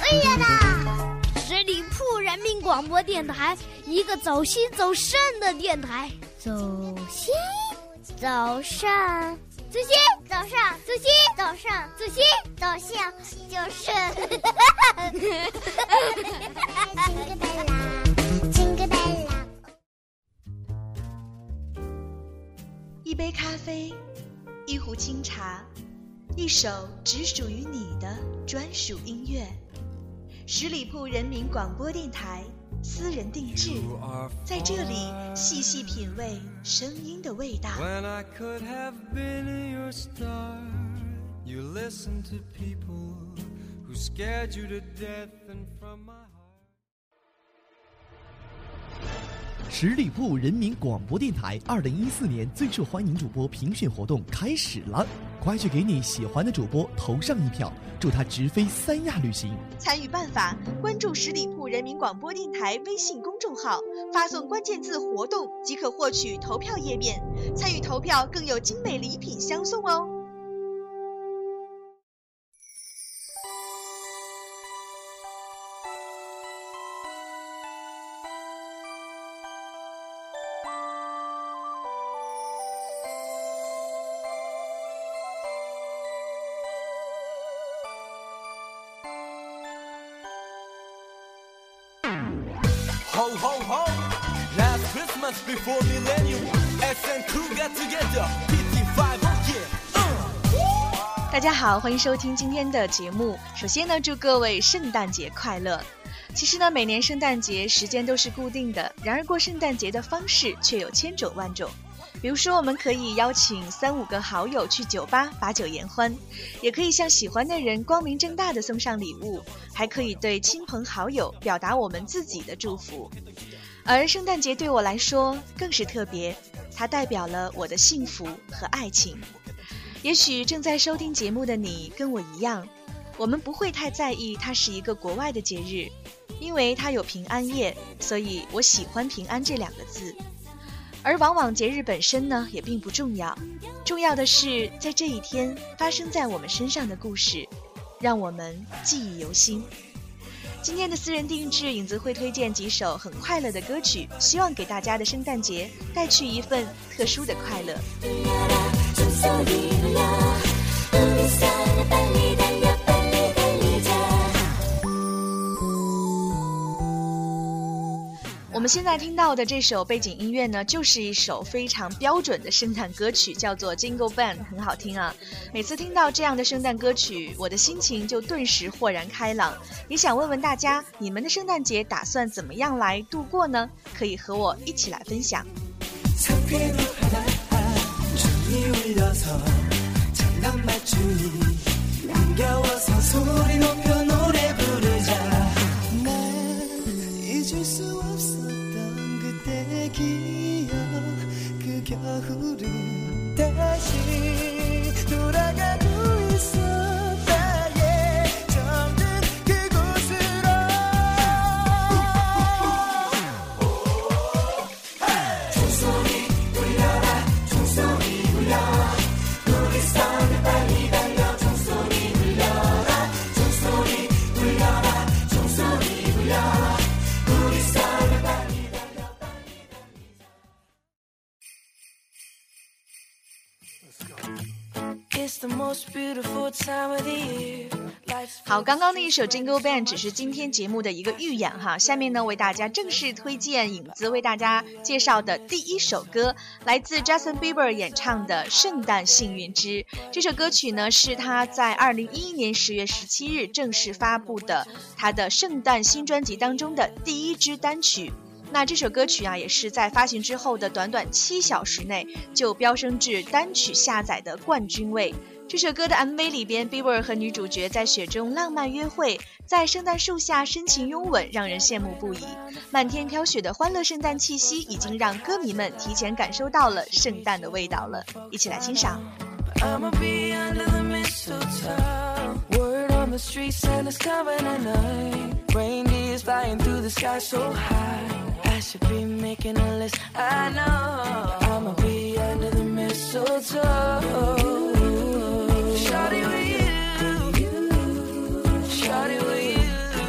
哎呀啦！十里铺人民广播电台，一个走心走肾的电台。走心，走肾，走心，走上，走心，走上，走心，走向，就是一杯咖啡，一壶清茶，一首只属于你的专属音乐。十里铺人民广播电台，私人定制，在这里细细品味声音的味道。When I could have been your star, you listened to people who scared you to death and from my heart. 十里铺人民广播电台2014年最受欢迎主播评选活动开始了，快去给你喜欢的主播投上一票，祝他直飞三亚旅行。 参与办法：关注十里铺人民广播电台微信公众号，发送关键字活动即可获取投票页面，参与投票更有精美礼品相送哦。 Ho ho ho! Last Christmas before millennium, SN2 got together. PT5, oh yeah! 大家好，欢迎收听今天的节目。首先呢，祝各位圣诞节快乐。其实呢，每年圣诞节时间都是固定的，然而过圣诞节的方式却有千种万种。比如说，我们可以邀请3-5个好友去酒吧把酒言欢，也可以向喜欢的人光明正大的送上礼物，还可以对亲朋好友表达我们自己的祝福。而圣诞节对我来说更是特别，它代表了我的幸福和爱情。也许正在收听节目的你跟我一样，我们不会太在意它是一个国外的节日，因为它有平安夜，所以我喜欢平安这2个字。而往往节日本身呢也并不重要，重要的是在这一天发生在我们身上的故事，让我们记忆犹新。今天的私人定制，影子会推荐几首很快乐的歌曲，希望给大家的圣诞节带去一份特殊的快乐。我们现在听到的这首背景音乐呢，就是一首非常标准的圣诞歌曲，叫做 Jingle Bell， 很好听啊。每次听到这样的圣诞歌曲，我的心情就顿时豁然开朗。也想问问大家，你们的圣诞节打算怎么样来度过呢？可以和我一起来分享。好，刚刚那一首 Jingle Bell 只是今天节目的一个预演哈，下面呢为大家正式推荐影子为大家介绍的第一首歌，来自 Justin Bieber 演唱的《圣诞幸运之》。这首歌曲呢是他在2011年10月17日正式发布的他的圣诞新专辑当中的第一支单曲。那这首歌曲啊，也是在发行之后的短短7小时内就飙升至单曲下载的冠军位。这首歌的 MV 里边 Bieber 和女主角在雪中浪漫约会，在圣诞树下深情拥吻，让人羡慕不已。漫天飘雪的欢乐圣诞气息已经让歌迷们提前感受到了圣诞的味道了，一起来欣赏。I'ma be under the mistletoe. Word on the street, Santa's coming tonight. Reindeer's flying through the sky so high. I should be making a list, I know. I'ma be under the mistletoe. Shawty with you, shawty with you.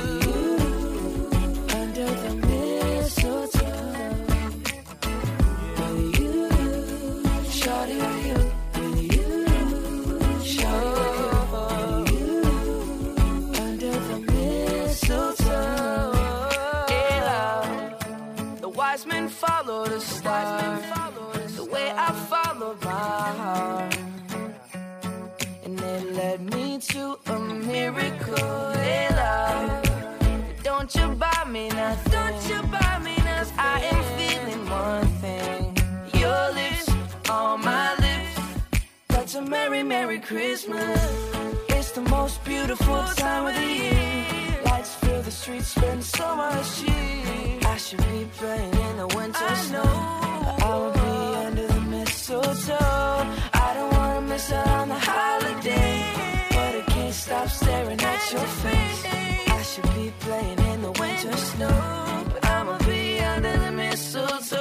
the start, the way I followed my heart, and it led me to a miracle. Hey, love, don't you buy me nothing, don't you buy me nothing. I am feeling one thing, your lips on my lips. That's a merry, merry Christmas. It's the most beautiful time of the year. Lights fill the streets, spend so much cheer. I should be playing in the winter snow, but I will be under the mistletoe. I don't wanna miss out on the holiday, but I can't stop staring at your face. I should be playing in the winter snow, but I'ma be under the mistletoe.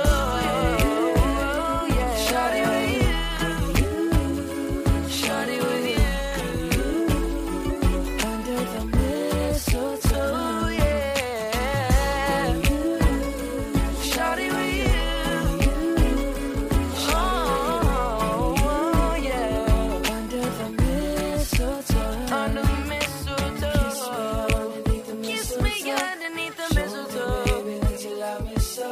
Shawty with you, shawty with you, under the mistletoe, yeah. Shawty with you, oh, yeah. Under the mistletoe, under the mistletoe. Kiss me underneath the mistletoe, baby, that you love me so.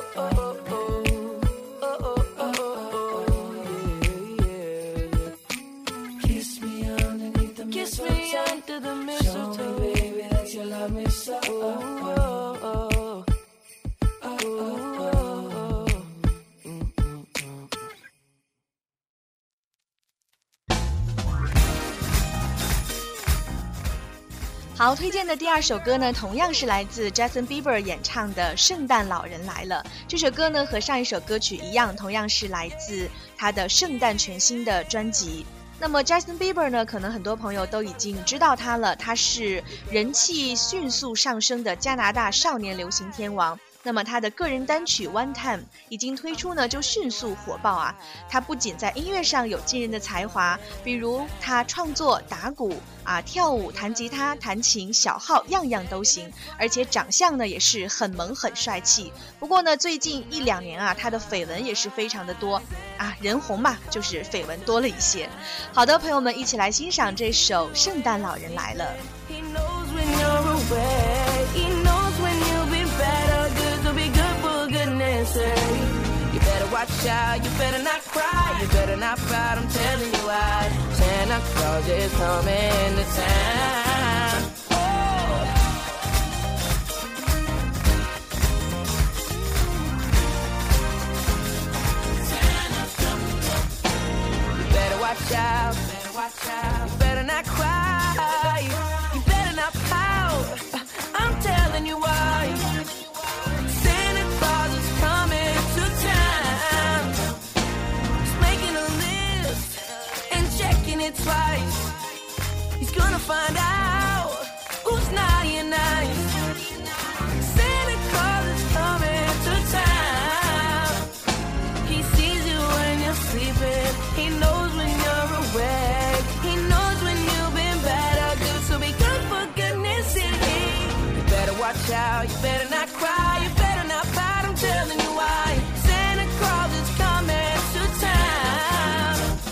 Kiss me underneath the mistletoe. Kiss me under the mistletoe. Show me, baby, that you love me so. 好，推荐的第二首歌呢，同样是来自 Justin Bieber 演唱的《圣诞老人来了》。这首歌呢，和上一首歌曲一样，同样是来自他的圣诞全新的专辑。那么 Justin Bieber 呢，可能很多朋友都已经知道他了，他是人气迅速上升的加拿大少年流行天王。那么他的个人单曲 One Time 已经推出呢，就迅速火爆啊！他不仅在音乐上有惊人的才华，比如他创作、打鼓啊、跳舞、弹吉他、弹琴、小号，样样都行。而且长相呢也是很萌很帅气。不过呢，最近1-2年啊，他的绯闻也是非常的多啊，人红嘛，就是绯闻多了一些。好的，朋友们，一起来欣赏这首《圣诞老人来了》。 You better watch out, you better not cry, you better not pout, I'm telling you why. Santa Claus is coming to town. Oh. You better watch out, you better not cry, you better not pout, I'm telling you why. Twice, he's gonna find out who's naughty and nice. Santa Claus is coming to town. He sees you when you're sleeping, he knows when you're awake, he knows when you've been bad or good, so be good for goodness sake. You better watch out, you better not cry, you better not pout, I'm telling you why. Santa Claus is coming to town.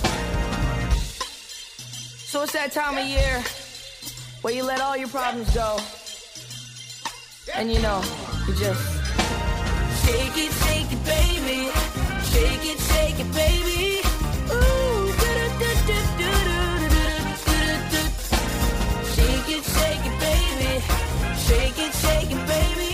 So it's that time of year where you let all your problems go, and you know, you just shake it, baby, shake it, baby. Ooh, shake it, baby, shake it, baby.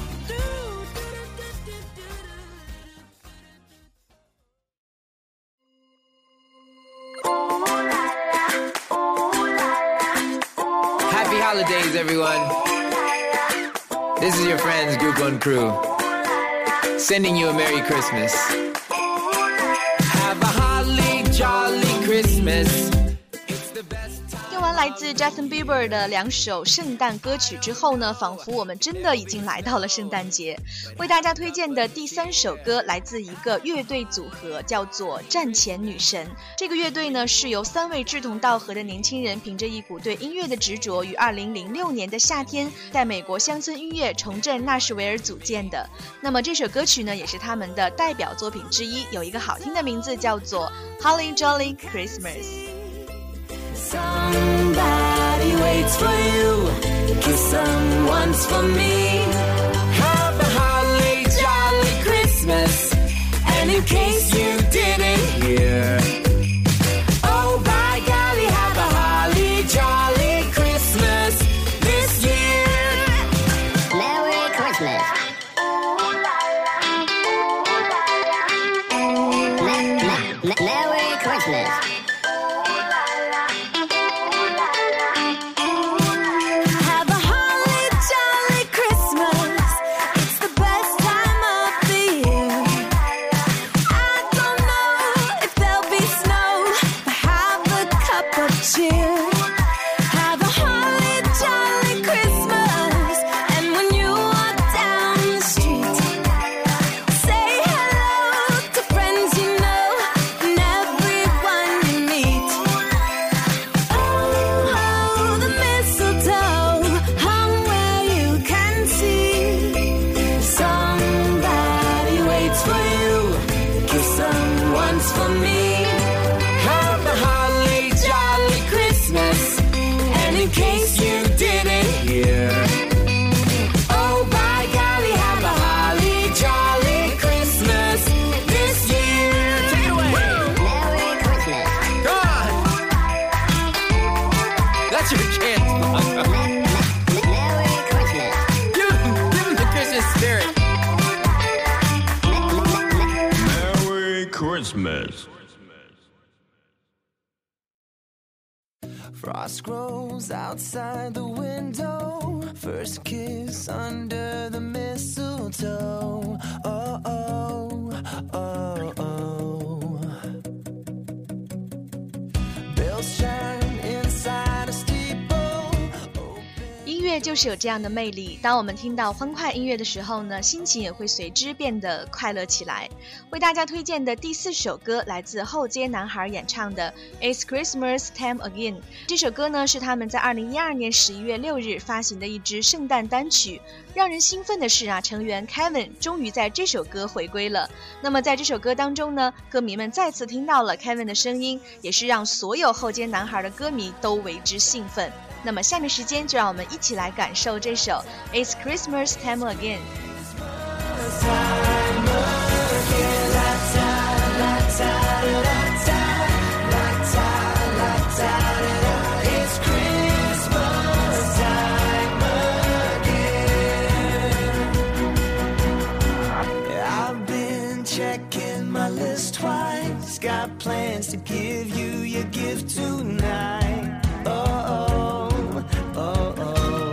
Happy holidays, everyone. This is your friends, Group One Crew, sending you a Merry Christmas. Have a holly jolly Christmas. 听完来自 Justin Bieber 的2首圣诞歌曲之后呢，仿佛我们真的已经来到了圣诞节。为大家推荐的第3首歌来自一个乐队组合，叫做战前女神。这个乐队呢是由3位志同道合的年轻人凭着一股对音乐的执着，于2006年的夏天在美国乡村音乐重振纳什维尔组建的。那么这首歌曲呢也是他们的代表作品之一，有一个好听的名字叫做 Holly Jolly Christmas。Somebody waits for you, kiss them once for me. Have a holly jolly Christmas. Frost grows outside the window. First kiss under the mistletoe. Oh, oh, oh, oh. Bells chime inside a steeple. 音乐就是有这样的魅力，当我们听到欢快音乐的时候呢，心情也会随之变得快乐起来。为大家推荐的第4首歌来自后街男孩演唱的 It's Christmas Time Again。 这首歌呢是他们在2012年11月6日发行的一支圣诞单曲。让人兴奋的是啊，成员 Kevin 终于在这首歌回归了。那么在这首歌当中呢，歌迷们再次听到了 Kevin 的声音，也是让所有后街男孩的歌迷都为之兴奋。那么下面时间就让我们一起来感受这首 It's Christmas Time Again。 I've been checking my list twice. Got plans to give you your gift tonight. Oh, oh, oh, oh.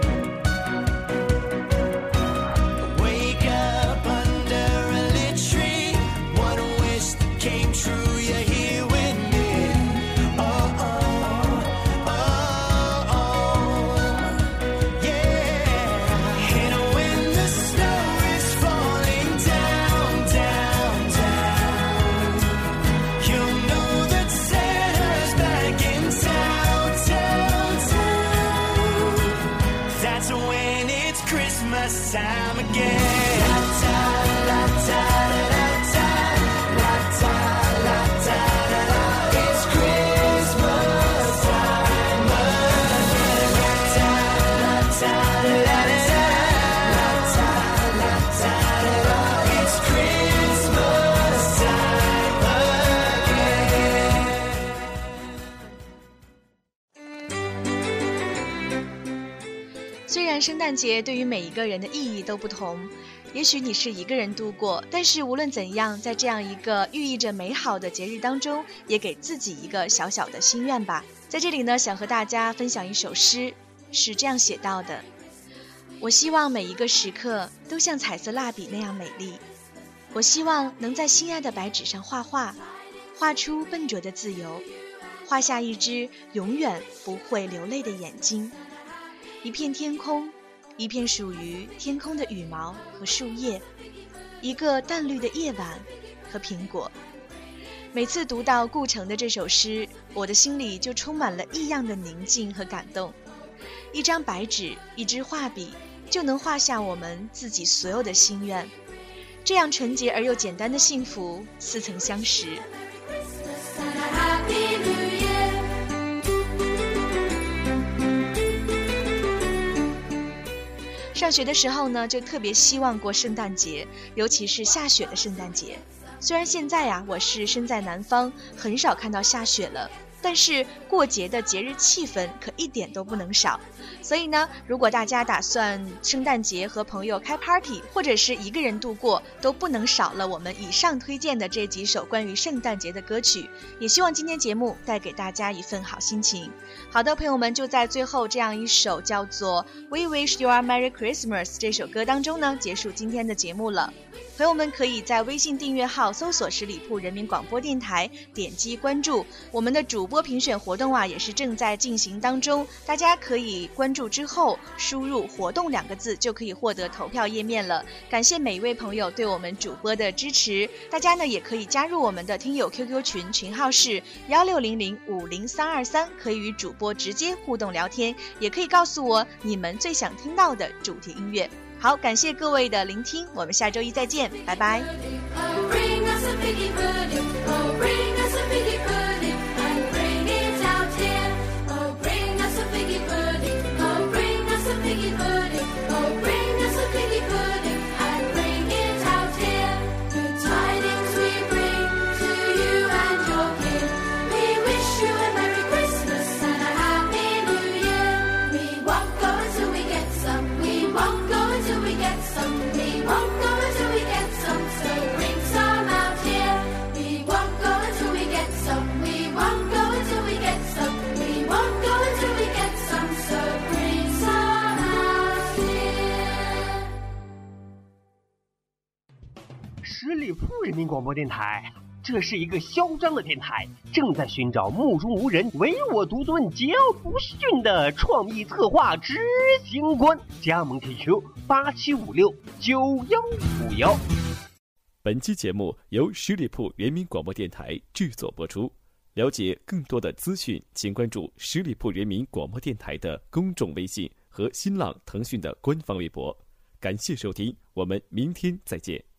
Wake up under a lit tree. One wish that came true. You're here with me. Oh, oh, oh, oh. Yeah. And when the snow is falling down, down, down, you'll know that Santa's back in town, town, town. That's when it's Christmas time again. La ta la ta da da, la ta la ta da da. It's Christmas time again. La ta la ta da da, la ta la ta da da. It's Christmas time again. 虽然圣诞节对于每一个人的意义都不同，也许你是一个人度过，但是无论怎样，在这样一个寓意着美好的节日当中，也给自己一个小小的心愿吧。在这里呢，想和大家分享一首诗，是这样写到的：我希望每一个时刻都像彩色蜡笔那样美丽，我希望能在心爱的白纸上画画，画出笨拙的自由，画下一只永远不会流泪的眼睛，一片天空，一片属于天空的羽毛和树叶，一个淡绿的夜晚和苹果。每次读到顾城的这首诗，我的心里就充满了异样的宁静和感动。一张白纸，一支画笔，就能画下我们自己所有的心愿。这样纯洁而又简单的幸福，似曾相识。上学的时候呢，就特别希望过圣诞节，尤其是下雪的圣诞节。虽然现在呀，我是身在南方，很少看到下雪了，但是过节的节日气氛可一点都不能少。所以呢，如果大家打算圣诞节和朋友开 party， 或者是一个人度过，都不能少了我们以上推荐的这几首关于圣诞节的歌曲。也希望今天节目带给大家一份好心情。好的，朋友们，就在最后这样一首叫做 We Wish You a Merry Christmas 这首歌当中呢，结束今天的节目了。朋友们可以在微信订阅号搜索十里铺人民广播电台，点击关注。我们的主播评选活动啊，也是正在进行当中，大家可以关注之后输入活动2个字，就可以获得投票页面了。感谢每一位朋友对我们主播的支持，大家呢也可以加入我们的听友 QQ 群，群号是160050323，可以与主播直接互动聊天，也可以告诉我你们最想听到的主题音乐。好，感谢各位的聆听，我们下周一再见，拜拜。 We won't go until we get some, so bring some out here. We won't go until 十里铺人民广播电台，这是一个嚣张的电台，正在寻找目中无人、唯我独尊、桀骜不驯的创意策划执行官。加盟 QQ 87569151。 本期节目由十里铺人民广播电台制作播出。了解更多的资讯，请关注十里铺人民广播电台的公众微信和新浪、腾讯的官方微博。感谢收听，我们明天再见。